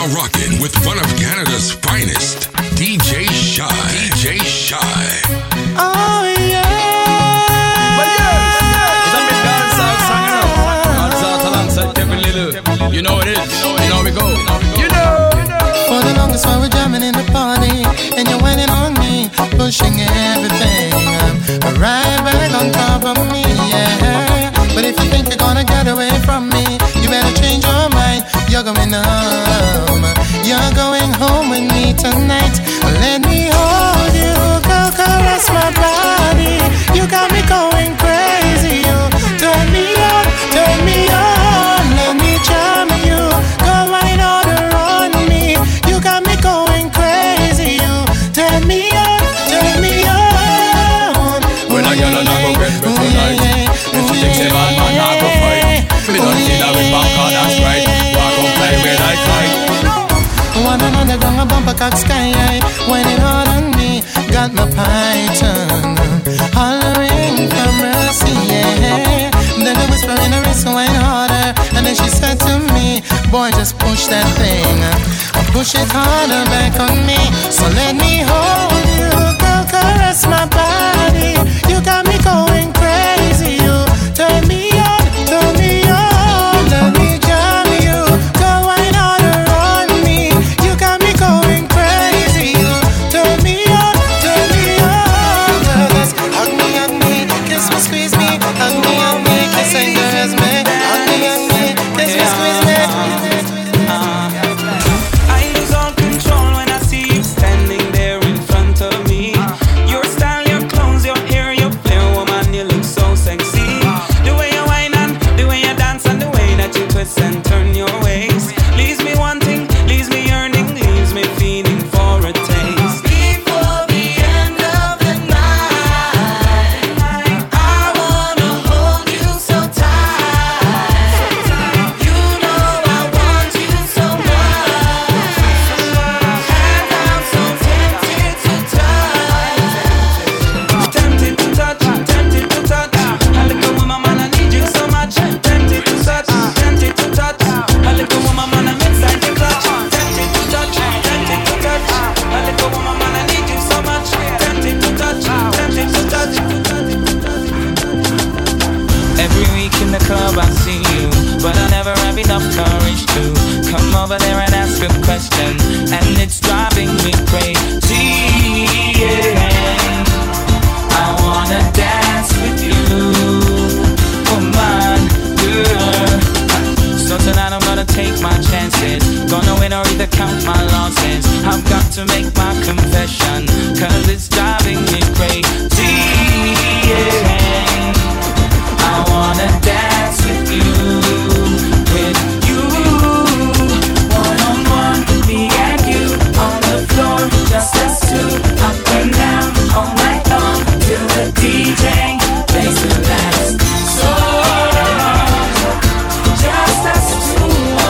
now rocking with one of Canada's finest, DJ Shy. DJ Shy. Oh yeah. But yes, it's a bit dance out song, you know. Dance out alongside Kevin Little. You know it is. You know we go. You know. For the longest while we're jamming in the party, and you're whining on me, pushing everything. Right back on top of me, yeah. But if you think you're gonna get away from me, you better change your mind. You're going home. You're going home with me tonight. Let me hold you, go caress my body. You got me going crazy. You turn me on, turn me on. Let me charm you, go right on around me. You got me going crazy. You turn me on, turn me on. When I get on, I go get better tonight. If she thinks a man, I go fight. We don't see that with back on, that's right. Walk on play with I fight. One another down a bumper cock sky high, whining hard on me, got my python hollering for mercy, yeah. Then I whisper in her wrist, whine harder, and then she said to me, boy, just push that thing, push it harder back on me. So let me hold you, girl, caress my body. You got me going crazy. You turn me on, turn me on. Let me jam you, go whine harder on me. You got me going crazy. You turn me on, turn me on. Girl, just hug me, kiss me, squeeze me. Hug me, kiss and caress me. Hug me, kiss me, squeeze me. And turn your ways. Leaves me wanting, leaves me yearning, leaves me feeling for a taste. Before the end of the night, I wanna hold you so tight. You know I want you so much, and I'm so tempted to touch. Tempted to touch, tempted to touch. A little woman, man, I need you so much. Tempted to touch. Tempted to touch, a little woman, man, I'm inside the clutch. Tempted to touch, tempted to touch, a little woman, man, I need you so much. Tempted to touch, tempted to touch. Every week in the club I see you, but I never have enough courage to come over there and ask a question, and it's driving me crazy. Yeah. I wanna dance with you, woman, girl. So tonight I'm gonna take my chances, gonna win or either count my losses. I've got to make my confession, cause it's driving me crazy, yeah. I wanna dance with you, one-on-one, me and you, on the floor, just us two, up and down, all night long, till the DJ plays the last song. Just us two,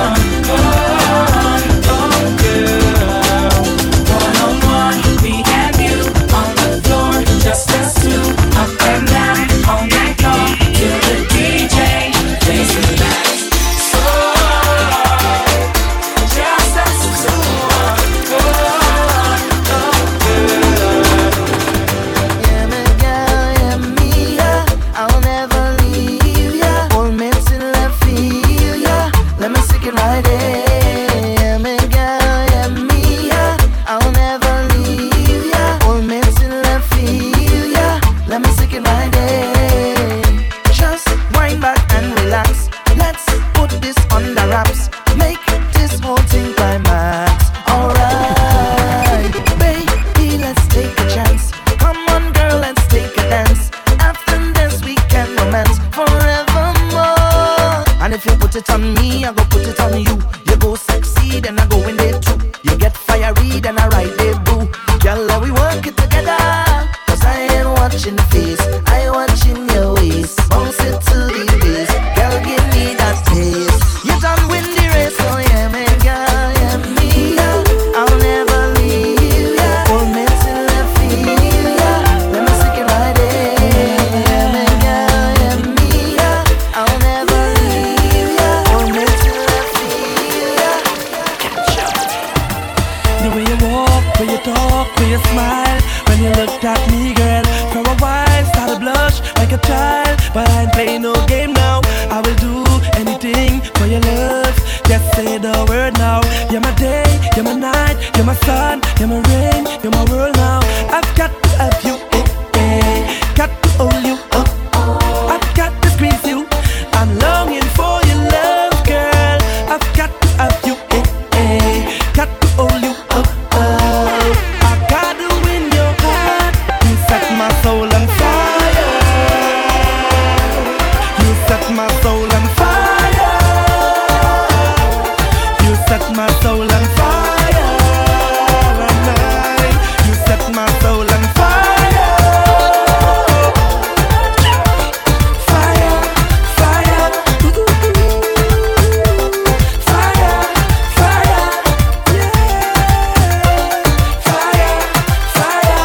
oh girl. One-on-one, me and you, on the floor, just us two, up and down, all night long, till the DJ plays the last song. Just us two, oh girl. Yeah, me girl, yeah, me, yeah. I'll never leave ya. Hold me till I feel ya. Let me stick it right there. Yeah, me girl, yeah, me, yeah. I'll never leave ya. Hold me till I feel ya. Let me stick it right there. Just wind back and relax. Let's put this under wraps. Make this whole thing climax. Alright, baby, let's take a chance. Come on, girl, let's take a dance. After this, we can romance forevermore. And if you put it on me, I go put it on you. You go sexy, then I go in there too. You get fiery, then I ride there, boo. Girl, let we work it together. Cause I ain't watching the face, I watching your waist. Bounce it to the bass. Girl, give me that taste. You done win the race, so yeah, me, girl, yeah, me, yeah. I'll never leave ya. Hold me till I feel ya. Let me stick it right there. Yeah, me, girl, yeah, me, yeah. I'll never leave ya. Hold me till I feel ya. your love. Just say the word now. You're my day, you're my night, you're my sun, you're my rain, you're my world now. I've got to have you, got to hold you up. I've got to squeeze you. I'm longing for your love, girl. I've got to have you, got to hold you up. I got to win your heart. You set my soul on fire. You set my soul on fire. You set my soul on fire. You set my soul on fire. Fire, fire, ooh, fire, fire, yeah. Fire, fire,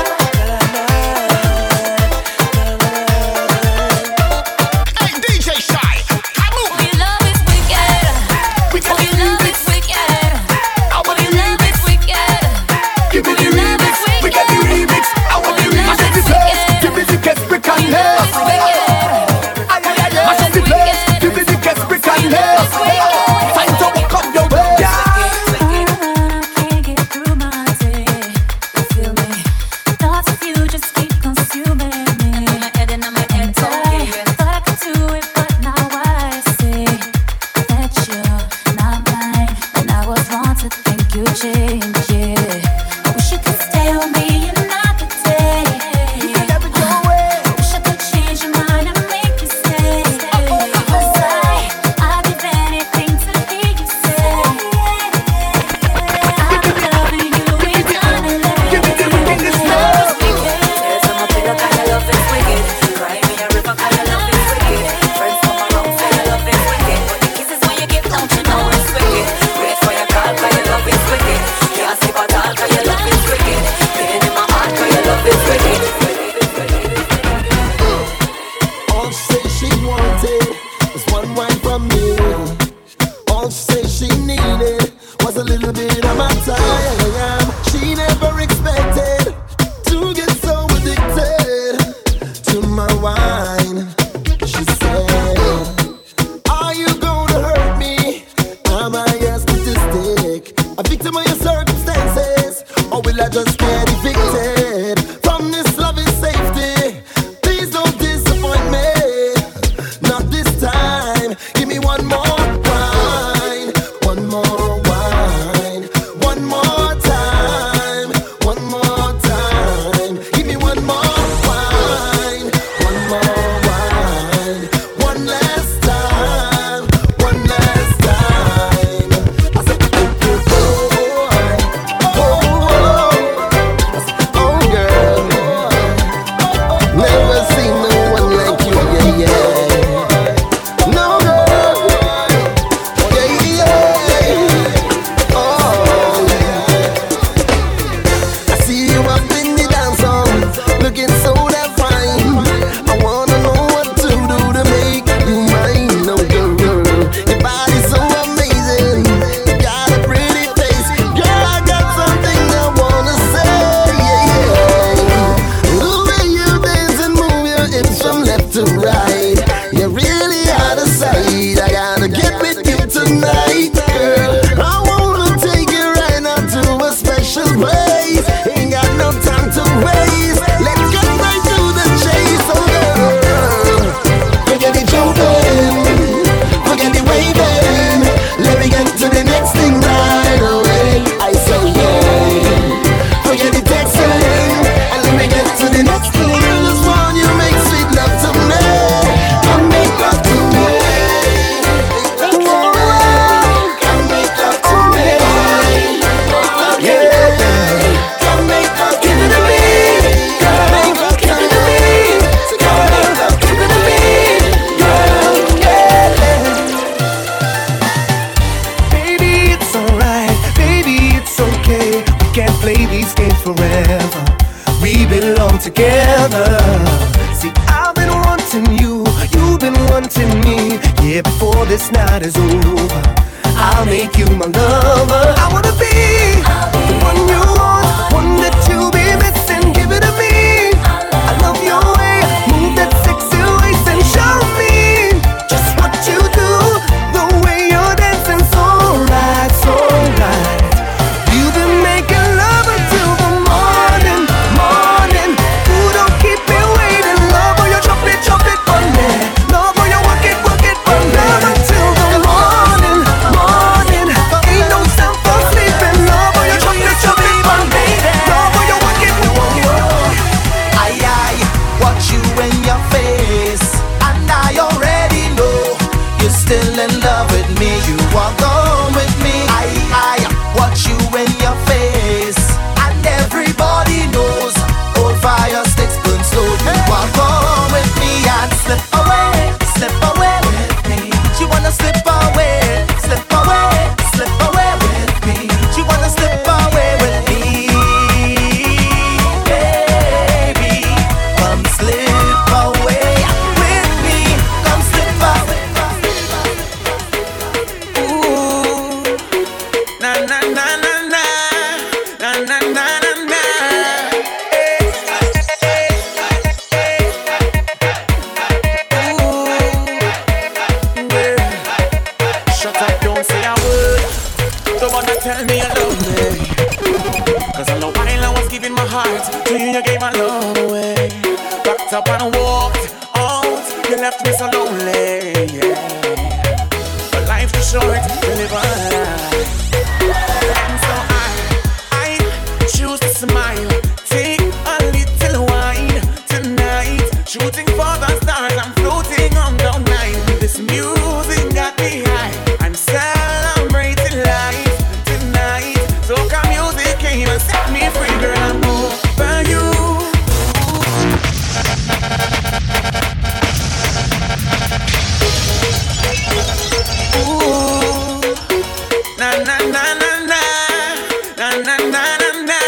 Hey, DJ Shy, come on. Your love is wicked. We got Your love is wicked. I want the Your love remix. is wicked. Give me the Your love remix. is We got the remix. I want the Your love remix. is wicked. Give me the guest brick and Your love is nails. wicked. Mash up the place. Give me the guest brick and nails. Time to walk up your way. I can't get through my day. You feel me? Thoughts of you just keep consuming me. In my head and on my head, thought I could do it, but now I see that you're not mine. And I was wrong to think you changed, yeah. I wish you could stay with me another day. I wish I could change your mind and make you stay. 'Cause I'd give anything to hear you say I've been loving you eternally. Give me the remix now. There's some pillow 'cause your love is wicked. Cry me a river 'cause your love is wicked. Friends come around say your love is wicked. But the kisses when you give, don't you know it's wicked. Wait for your call 'cause your love is wicked. Can't sleep at all 'cause your love is wicked. Pain in my heart 'cause your love is wicked. All she said she wanted was one wine from me. All she said she needed was a little bit of my time. She never expected to get so addicted to my wine. She said, are you gonna hurt me? Am I a statistic? A victim of your circumstances? Or will I just get evicted from this loving safety? Please don't disappoint me. Not this time. Give me one more wine. One more wine. One more time. One more time. Give me one more wine. One more wine. One last time. One last time. I said, oh, girl. Never seen no one like you, yeah, yeah. No, girl. Yeah, yeah. Oh, yeah. I see you up in the dance hall, looking so damn fine. I wanna know what to do to make you mine, no girl. Your body's so amazing, you got a pretty face. Girl, I got something I wanna say, yeah, yeah. The way you dance and move your hips from left to right, you're really out of sight. I gotta get with you tonight, girl. I wanna take you right now to a special place. Ain't got no time to waste. Let's get right to the chase, oh girl. Forget the jumping, forget the waving. Let me get to the next thing right away. I say yeah. Forget the texting, and let me get to the next thing. I just want you make sweet love to me. Come make love to me. Come make love to me. Yeah. Come make love, give it to me. Come make love, give it to me. Come make love, give it to me. Girl, yeah. Baby, it's alright. Baby, it's okay. We can't play these games forever. We belong together. See, I've been wanting you, you've been wanting me. Yeah, before this night is over, I'll make you my lover. I wanna be the one you want, one that you'll be missing. Give it to me. I love your way, move that sexy waist and show me just what you do, the way you're dancing. say a word. Don't wanna tell me you love me. Cause all the while I was giving my heart to you, you gave my love away. Backed up and walked out, you left me so lonely, yeah. But life is short to live a life. And so I choose to smile. Take a little wine tonight. Shooting for the stars, I'm floating on the night. This music got me high. I'm celebrating life tonight. Soca music came and set me free, girl. I'm over you. Ooh, na na na na na, na na na na na.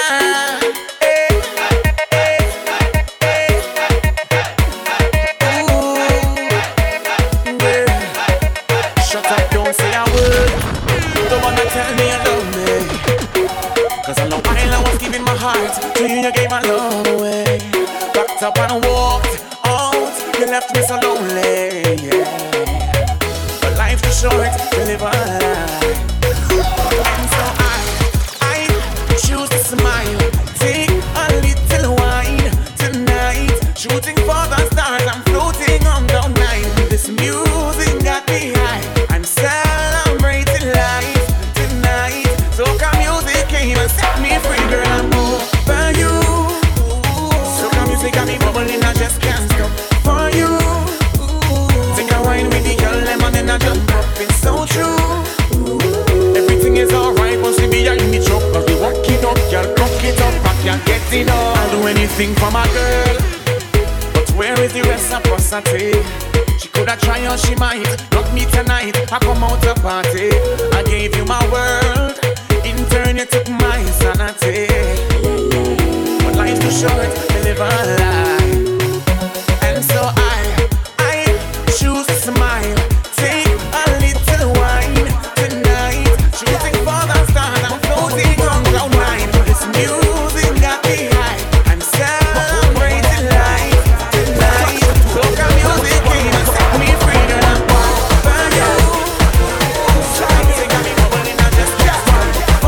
Tell me you love me. Cause all the while I was giving my heart to you, you gave my love away. Backed up and walked out, you left me so lonely, yeah. But life is short to live a life. And so I choose to smile. Take a little wine tonight. Shooting for the stars, I'm floating on the night. This music got me high. I'm celebrating life. Soca music came and set me free, girl. I'm over you. Soca music got me bubbling, I just can't stop for you. Take a wine with the girl, lemon and I jump up. It's so true. Everything is alright once we be in the truck. Cause we walk it up, girl, cock it up, I can't get it up. I'll do anything for my girl. But where is the reciprocity? She coulda tried or she might. Not me tonight, I come out to party. I gave you my world. In turn you took my sanity. But life's too short to live a lie. And so I choose to smile. Take a little wine tonight. Shooting for the stars, I'm floating on cloud nine. This music got me high. I'm celebrating life tonight. Soca music came and set me free, girl. I'm over you. Music got me bubbling, I just can't stop.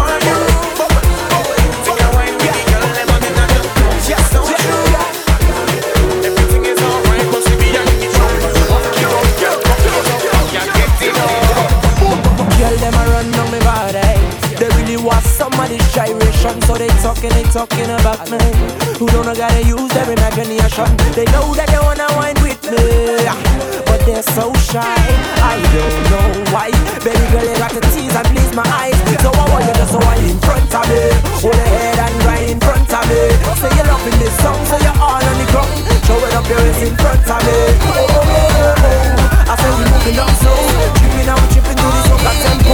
Somebody's gyration, so they talking about me. Who don't know gotta use their imagination. They know that they wanna wine with me, but they're so shy. I don't know why. Baby girl, you got to tease and please my eyes. So I want you to wine in front of me. Hold your head and right in front of me. Say you're loving this song, so you're all on the ground. Show it up your waist in front of me. I say we moving down slow, tripping out, tripping to this soca tempo.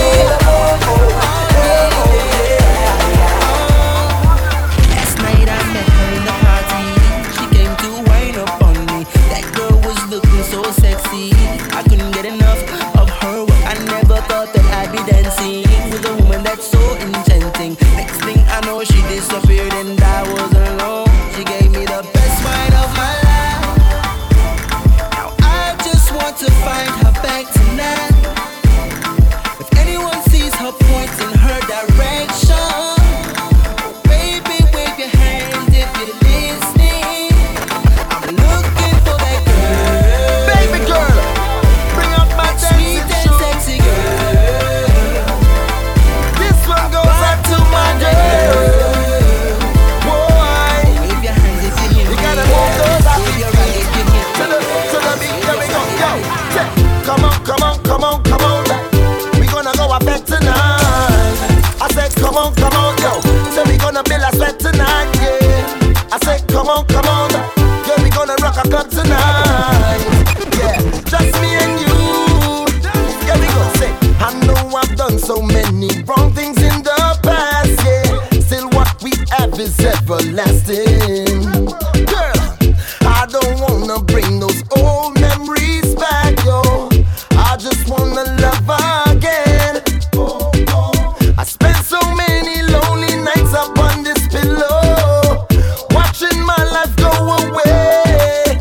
So sexy, I couldn't get enough of her. I never thought that I'd be dancing with a woman that's so enchanting. Next thing I know, she disappeared and I was alone. She gave me the best wine of my life. Now I just want to find her back tonight. If anyone sees her, point in her direction. Baby, wave your hand if you're listening. I'm looking for that girl. Baby girl, bring out my sweet and sexy girl. This one goes out to my girl. Boy, wave your hands if you hear me. You gotta move those up. Wave your hands if you hear me. To the beat, here we go. Yo, come on, come on, come on, come on. We gonna go up back tonight. I said, come on, yo. So we gonna build a sweat tonight, yeah. I said, come on, yeah, we gonna rock a club tonight. Yeah, just me and you. Here we go, say, I know I've done so many wrong things in the past, yeah. Still what we have is everlasting. Girl, I don't wanna bring those old memories back, yo. I just wanna love again. I spent so many lonely nights up on this pillow, watching my life go away.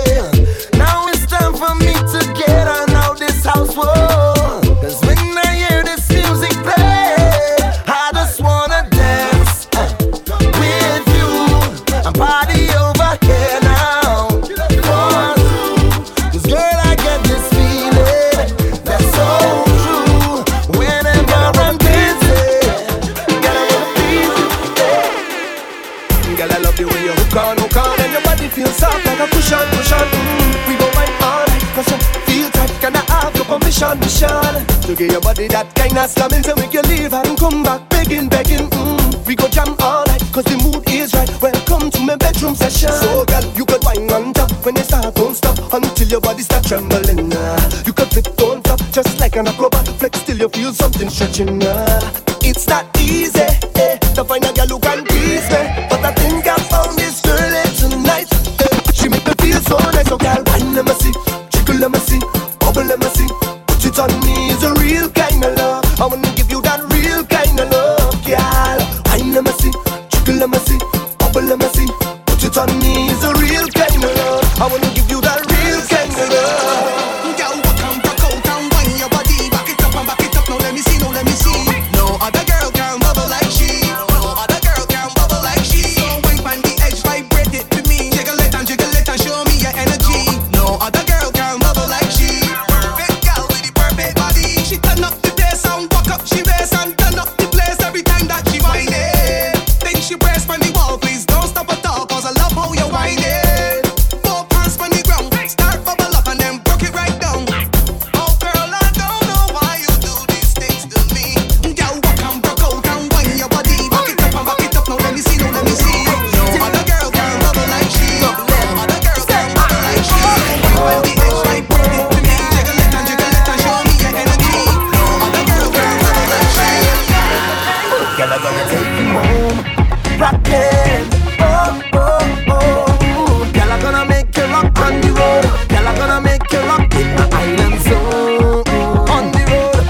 Now it's time for me to get on out this house, whoa. 'Cause when I hear give your body that kind of slamming to make you leave and come back begging. We go jam all night, cause the mood is right. Welcome to my bedroom session. So girl, you could wine on top when you start, don't stop until your body start trembling. You could flip, don't flop, just like an acrobat. Flex till you feel something stretching. It's not easy to find a girl who can please me, but I think I found this girl tonight. She make me feel so nice. So girl, wine let me see, jiggle let me see, bubble let me see. Put it on me is a real kind of love. I wanna give you that real kind of love, girl. Wine let me see, jiggle let me see, bubble let me see. Put it on me is a real kind of love. I wanna give you that real kind of love. Girl, walk and rock out and wine your body. Back it up and back it up. Now let me see, now let me see. No other girl can bubble like she. No other girl can bubble like she. So wine on the edge, vibrate it to me. Jiggle it and show me your energy. No other girl can bubble like she. Perfect girl with the perfect body. She turn up the bass and walk up she race and turn up the place every time that she whine it. Then she press on the wall, please don't stop at all, cause I love how you whine it. 4 pants on the ground, start bubble up and then broke it right down. Oh girl, I don't know why you do these things to me. Girl, walk and broke out and whine your body. Back it up and back it up, now let me see, now let me see. No other girl can bubble like she. No other girl can bubble like she. When the edge right, put it to me. Jiggle it and show me your energy. No other girl can bubble like she. Girl, I'm gonna take you home, rockin'. Girl, I'm gonna make you rock on the road. Girl, I'm gonna make you rock in the island zone. On the road,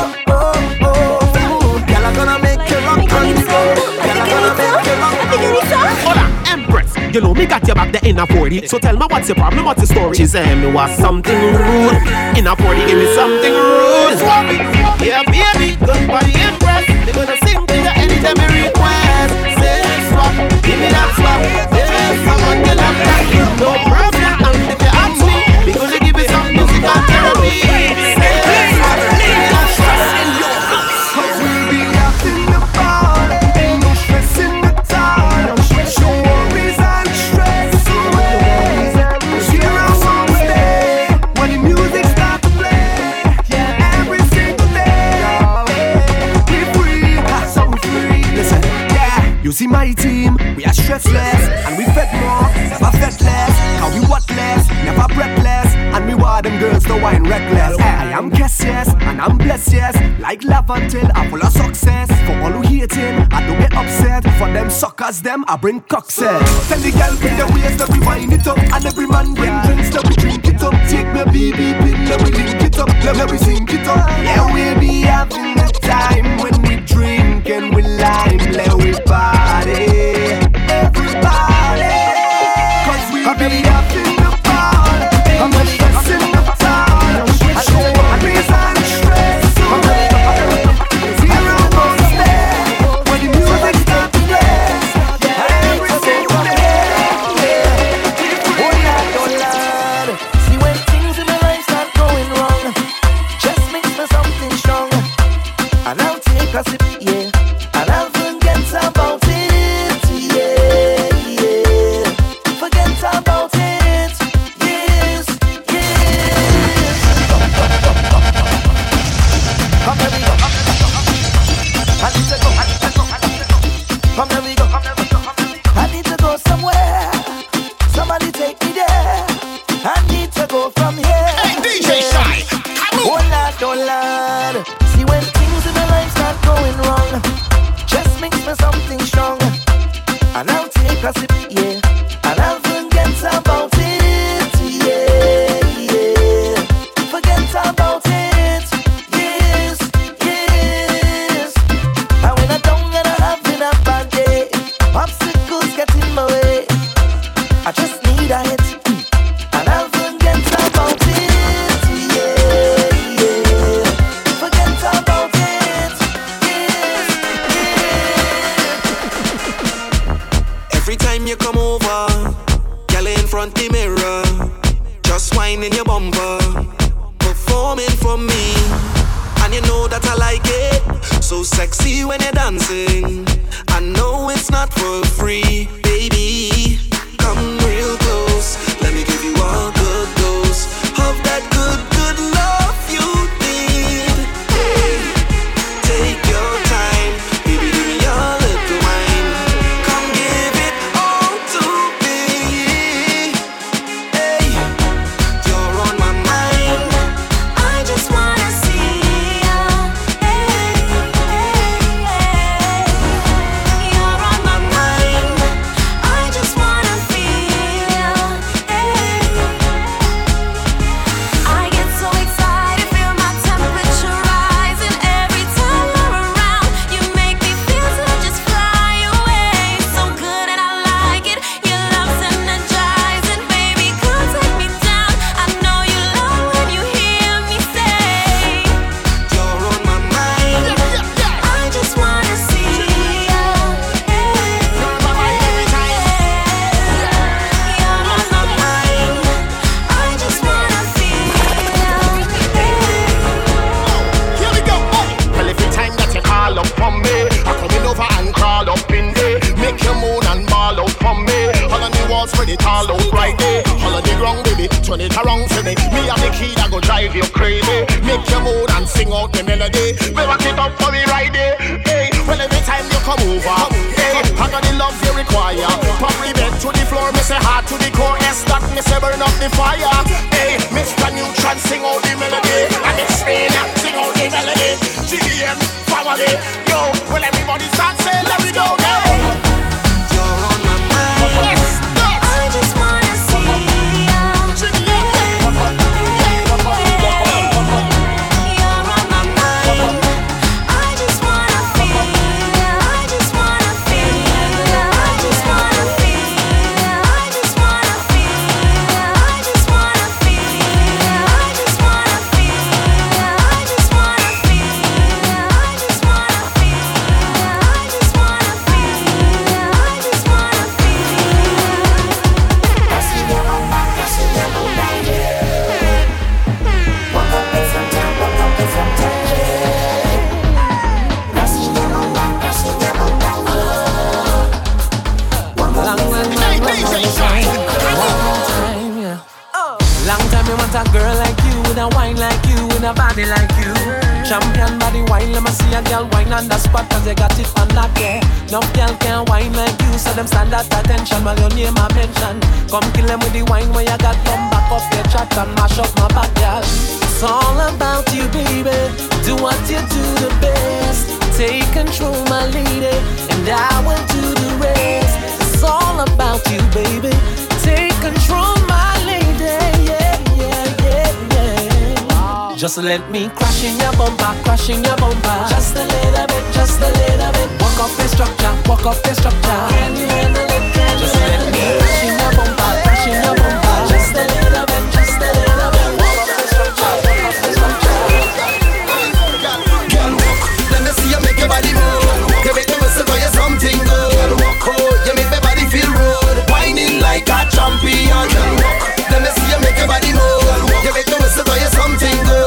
girl, I'm gonna make you rock on the road. Girl, I'm gonna make you rock on the road. Hola, Empress. You know me got your back there in a 40. So tell me what's your problem, what's your story? She said me was something rude. In a 40, give me something rude. Yeah, baby, good body Empress. They gonna sing to you anytime you request. Say swap, give me that swap. Yeah, someone get up that. No problem, and if you ask me, we gonna give you some musical therapy. Say swap, give me that swap. Cause we'll be out in the fall. Ain't no stress in the town. Show worries and stress away. Cheer us on stay when the music starts to play. Yeah, every single day. We free, so free. Listen, yeah. You see my team, we are stressless and we fed more, never fed less. How we what less, never breathless, and we want them girls to wine reckless. I am Kess, yes, and I'm blessed, yes. Like love until I'm full of success. For all who hating, I don't get upset. For them suckers, them I bring cockset. Tell the girl bring the waist that we wind it up, and every man bring drinks that we drink it up. Take me BB pin, let we link it up, let we sing it up. Yeah, we be having the time when we drink and we lime, let we party, everybody. Cause we be having the party, I'm a stress in the town. I show worries and stress away. Zero more stay when the music starts to play. Every single day. Oh Lord, see when things in my life start going wrong, just mix me something strong, and I'll take a sip, yeah, and I'll forget about it, yeah. Forget about it, yes. Come here we go. I need to go. Come here we go. I need to go somewhere. Somebody take me there. I need to go from here. Hey, DJ Shy, Oh Lord. See when things in my life start going wrong, just mix me something strong, and I'll take a sip, yeah, and I'll forget about it, yeah. Forget about it, yes. And when I'm down and I'm having a bad day, obstacles get in my way, I just need a hit, and I'll forget about it, yeah. Forget about it, yes. Every time you come over, girl in front the mirror, just whining your bumper, performing for me, and you know that I like it. So sexy when you're dancing. I know it's not for free, baby. Come real close, let me give you a good dose of that good love you need. it all look right there. All of the ground, baby, turn it around for me. Me and the key that go drive you crazy. Make your mood and sing out the melody. We rock it up for me right there. Hey, well every time you come over, hey, I got the love you require. Probably bed to the floor, me say heart to the core. S that me say burn up the fire. Hey, Mr. Neutron sing out the melody. And it's Spain, sing out the melody. GDM family, yo, well everybody start saying let me go, go. A girl like you, with a wine like you, with a body like you. Champion body wine, let me see a girl wine on the spot, cause they got it on that, yeah. No girl can wine like you, so them stand at attention while your name I mention. Come kill them with the wine when you got come back up your chat and mash up my back, girl. It's all about you, baby. Do what you do the best. Take control, my lady, and I will do the rest. It's all about you, baby. Take control, my lady, yeah. Just let me crash in your bumper, crash in your bumper. Just a little bit, just a little bit. Walk off the structure, walk off the structure. Can you handle it? Can just you let me crash in your bumper, crash in your bumper. Just a little bit, just a little bit. Walk off the structure, walk off the structure. Girl, walk, let me see you make your body move. You make me whistle for you something good. Walk, oh, you make my body feel rude. Whining like a champion. Girl, walk, let me see you make your body move. You make me whistle for you something good.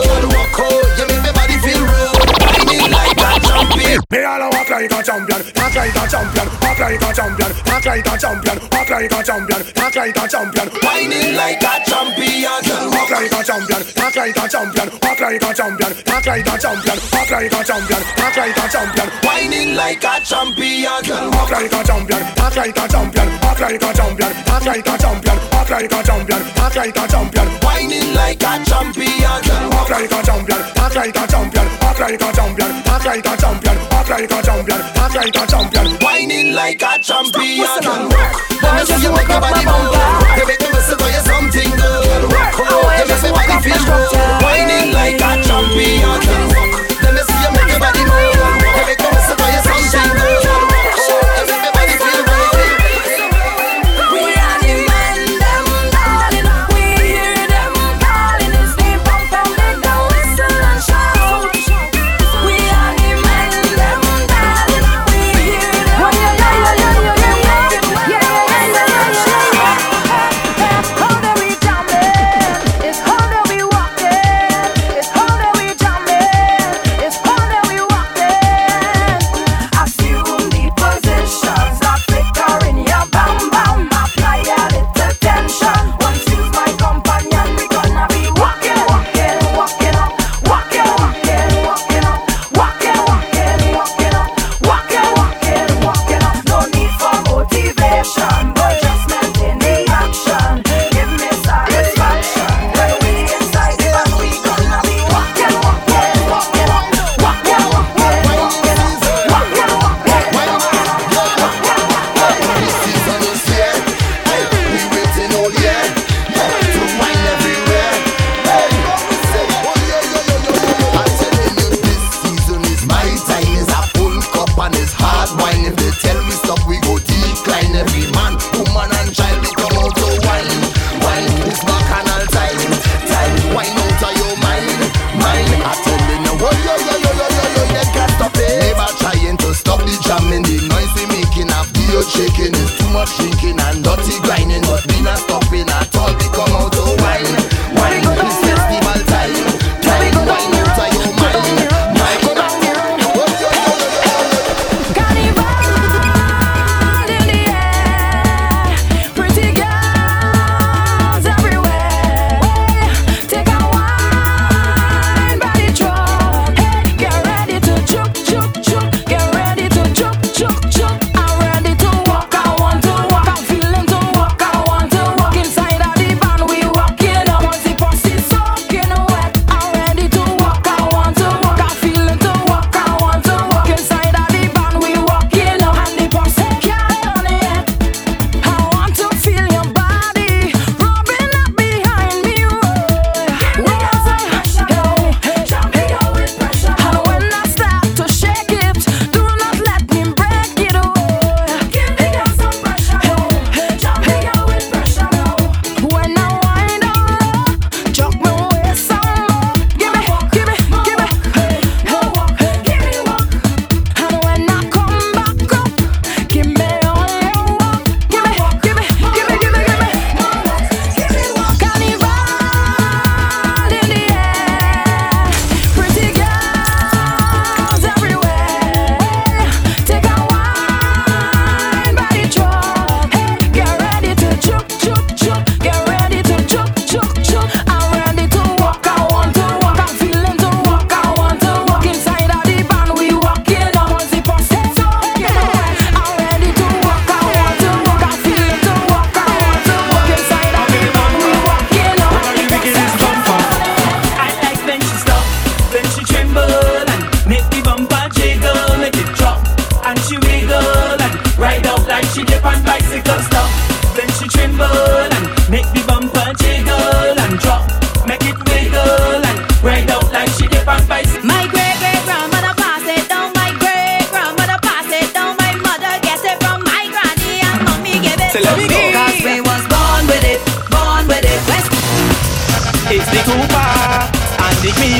Me all walk like a champion, talk like a champion, walk like a champion, talk like a champion, walk like a champion, talk like a champion, whining like a champion. Walk like a champion, talk like a champion, walk like a champion, talk like a champion, walk like a champion, talk like a champion, whining like a champion. Walk like a champion, talk like a champion, walk like a champion, talk like a champion, walk like a champion, talk like a champion, whining like a champion. Walk like a champion, talk like a champion, walk like a champion, talk like a champion. Walk like a champion, talk like a champion, whining like a champion. Let me see you make your body move. You make me whistle for you something good. Oh, you make my body feel good. Whining like a champion. Let me see you make your body move. You make me whistle for you something good. Oh, you make my body feel good. We are the men, them darling. We hear them calling. It's the pump and make the whistle and shout. We are the men, them darling. We hear them calling. How do we jamming? It's how do we walking? It's how do we jamming? It's how do we walking? Assume the positions that flicker in your bam bam. Apply a little tension. Once you's my companion, we gonna be walking, walking, walking up, walking, walking, walking up, walking, walking, walking up, walking, walking, walking up. No need for motivation, but just maintain the action. Give me satisfaction when we inside the band. We gonna be walking, walking, walking up, walking, walking, walking up, walking, walking. This season is here. Hey, we waiting all year. Hey, to wine everywhere. Hey, say, oh yeah. I'm telling you, this season is my time. Is a full cup and it's hard wine. If they tell me stop, we go decline. Every man, woman and child, we come out to wine. Wine is bacchanal time. Time, wine out of your mind. Mind, I'm telling you, oh yeah. They can't stop it. Never trying to stop the jamming. The noise we making, a video shaking. It's too much drinking and dirty grinding. But we not stopping at all. We come out to wine. Wine, it's festival time. Time, wine out of your mind. Mind, Carnival in the air, pretty girl.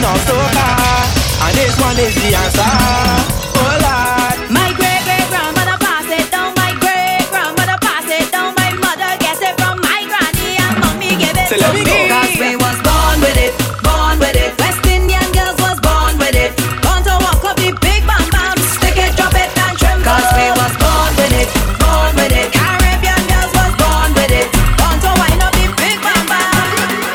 of soca, and this one is the answer. Oh Lord, My great-great-grandmother passed it down. My great-grandmother passed it down. My mother gets it from my granny, and mommy gave it So to let me me. go. Cause we was born with it, born with it. West Indian girls was born with it. Born to walk up the big bam bam, stick it, drop it, and tremble. Cause we was born with it, born with it. Caribbean girls was born with it. Born to wind up the big bam bam.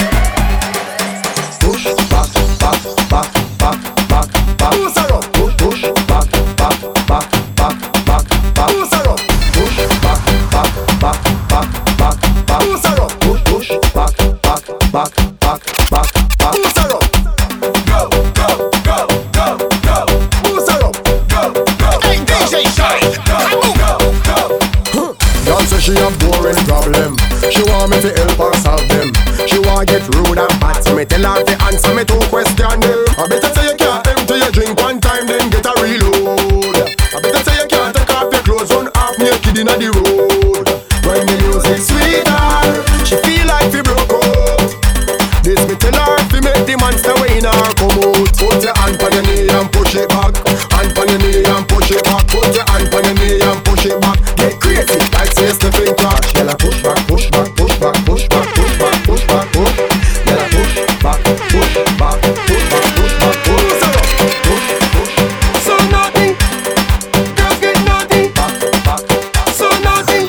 Push back, back, back, back, back, back. Push around. Push back, back, back, back, back, back. Push around. Push back, back, back, back, back, back. Push around. Push back, back, back, back, back, back. Push around. Go, go, go, go, go. Push around. Go, go. Hey, DJ Shine. Go, go, go. Girl say she a boring problem. She want me to help her solve them. She want get rude and bad. So me tell her to answer me 2 questions. I better say you can't empty your drink one time, then get a reload. I better say you can't take off your clothes, run half naked inna the road. When the music sweeter, she feel like she broke out. This me tell her to make the monster way in her come out. Put your hand on your knee and push it back. Hand on your knee and push it back. Put your hand on your knee and push it back. Get crazy like say Stephen Clark. Girl a push back, push back, push back, push back, push back, push back, push. Girl a push back, push back, push back, push back, push. Push, push. so naughty, girls get naughty, Back, back. so naughty.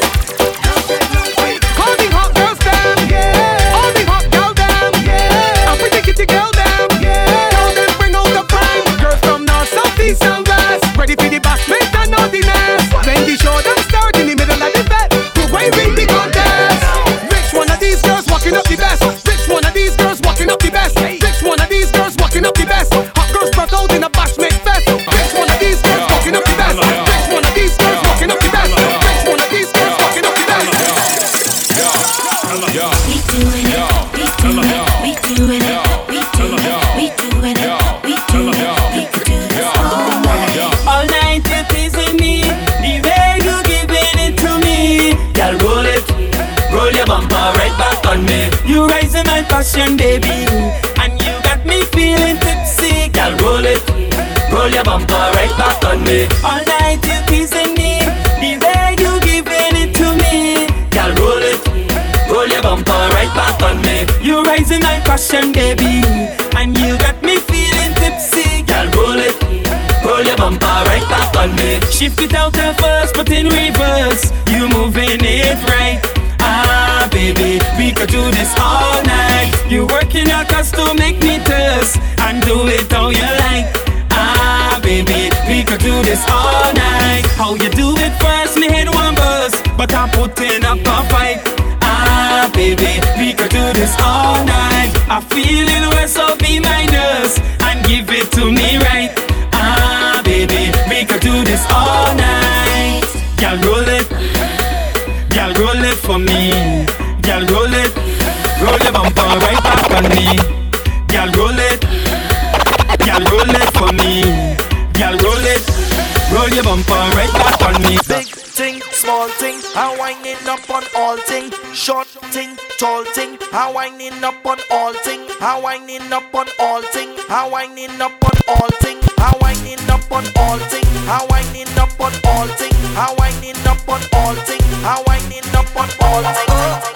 All the hot girls them, yeah. All the hot girls them, yeah. And pretty kitty girl them, yeah. Girl them bring out the prime. Girls from north, south, east and west, ready for the bashment and naughtiness. When the show them start in the middle of the bed, who way win the contest? Which one of these girls walking up the best? Which one of these girls walking up the best? Which one of these girls walking up the best? Hot girls brought out in a bashment fest. Which one of these girls walking up the best? Which one of these girls walking up the best? Which one of these girls walking up the best? We doing it, we doing it, we doing it, we doing it, we doing it, we doing it. We could do this all night. All night you're teasing me, the way you giving it to me. Girl, roll your bumper right back on me. You raising my passion, baby, and you got me feeling tipsy. Girl, roll your bumper right back on me. All night you're teasing me, the way you giving it to me. Girl, roll your bumper right back on me. You raising my passion, baby, and you got me feeling tipsy. Girl, roll your bumper right back on me. Shift it out at first, but in reverse, you moving it right. Ah, baby, we could do this all night. You working your cause to make me thirst, and do it how you like. Ah, baby, we could do this all night. How you do it first, me head one buzz, but I'm putting up a fight. Ah, baby, we could do this all night. I feel it well, so be my nurse and give it to me right. Ah, baby, we could do this all night. Girl, roll it for me. Girl, roll your bumper right back on me. Girl, roll it for me. Girl, roll your bumper right back on me. Big thing, small thing, I winding up on all thing. Short thing, tall thing, I winding up on all thing. I winding up on all thing. I winding up on all thing. I winding up on all thing. I winding up on all thing. I winding up on all thing. I winding up on all thing.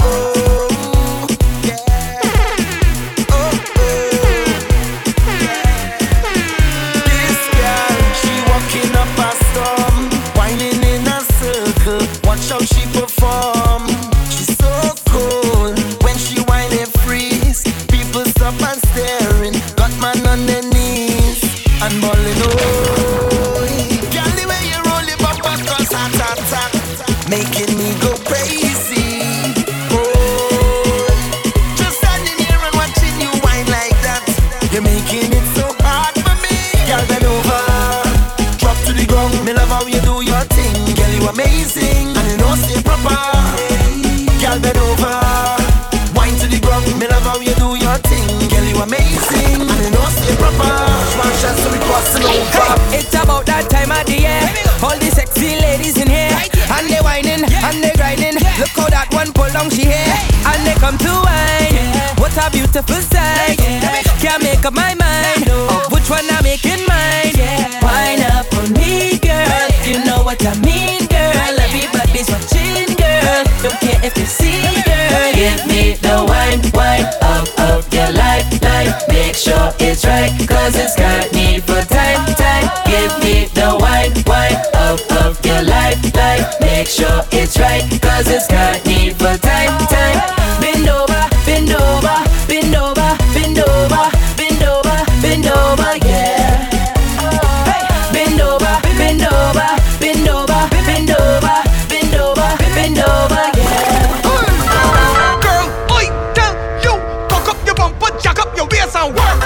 Watch how she perform. She's so cool. When she whine and freeze, people stop and staring. Got man on their knees and ballin'. Oh, girl, the way you roll it up, cause hot, making me go crazy. Oh, just standing here and watching you whine like that. You're making it so hard for me. Girl, bend over, drop to the ground. Me love how you do your thing. Girl, you amazing. Stay proper, girl, bend over, wine to the ground. Me love how you do your thing, girl, you amazing. And you know stay proper, one shot so we crossing over. Hey, it's about that time of the year. All the sexy ladies in here, and they want whining and they grinding. Look how that one pull down she hair and they come to wine. What a beautiful sight. Can't make up my mind of which one I'm making mine. Wine up for me, girl. You know what I mean, girl. Everybody's watching, girl. Don't care if you see, girl. Give me the wine of your life. Make sure it's right, cause it's got need for time. Give me the wine of your life. Make sure it's right, cause it's got need for time. Bend over, bend over, bend over, bend over, bend over, bend over, yeah. Bend over, bend over, bend over, bend over, bend over, bend over, yeah. Girl, oi, tell you, cock up your bumper, jack up your waist and work.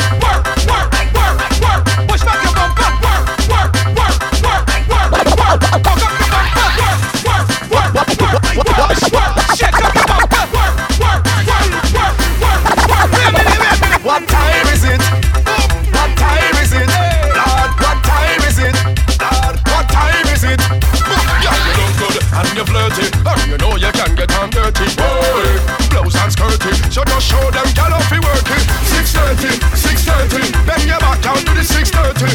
Push back your bumper, work. Cock up your bumper, work. Shake up your bumper, work. What time is it? What time is it? Lord, what time is it? Lord, what time is it? Yeah, you look good and you're flirty, and you know you can get on dirty. Boy, blouse and skirty, so just show them get off you working. 6:30, bend your back down to the 6:30.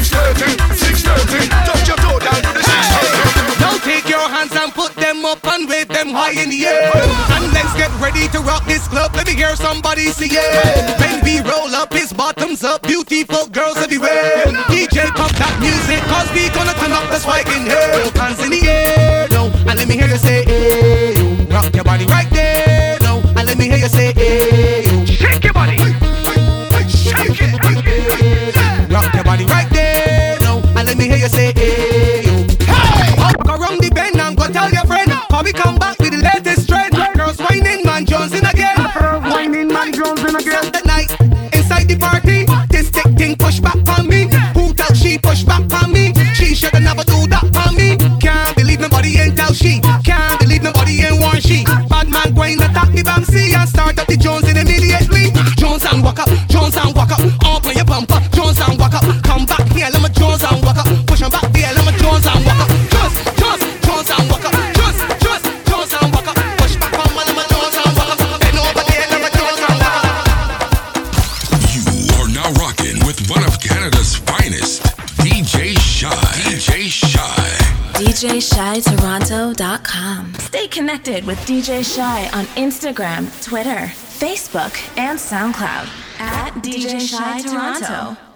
Touch your toe down to the 6:30. Now take your hands and put them up and wave them high in the air. And let's get ready to rock this club. Let me hear somebody say yeah. When we roll up, his bottoms up, beautiful girls everywhere. DJ pump that music, cause we gonna turn up the spike in here. Hands in the air, no, and let me hear you say hey, yo. Rock your body right there, no, and let me hear you say hey, yo. Shake your body, shake it. Rock your body right there, no, and let me hear you say hey, yo. Walk around the bend and go tell your friend, how we come back with the latest trend. Girls whining, man Johnson again. Saturday night, inside the party, this thick thing push back on me. Who tell she push back on me? She shoulda never do that on me. Can't believe nobody ain't tell she. Can't believe nobody ain't warn she. Bad man going attack the Bamsi and start up the Jones in immediately. Jones and walk up, up on your bumper. Jones and walk up, come back here, let me Jones and walk up. Push on back there, let me Jones and walk up. Jones and walk up. Jones and walk up. Push back on my, let me Jones and walk up. Bend over there, let me Jones and walk up. You are now rocking with one of Canada's finest, DJ Shy. DJShyToronto.com. Stay connected with DJ Shy on Instagram, Twitter, Facebook, and SoundCloud at DJ Shy Toronto.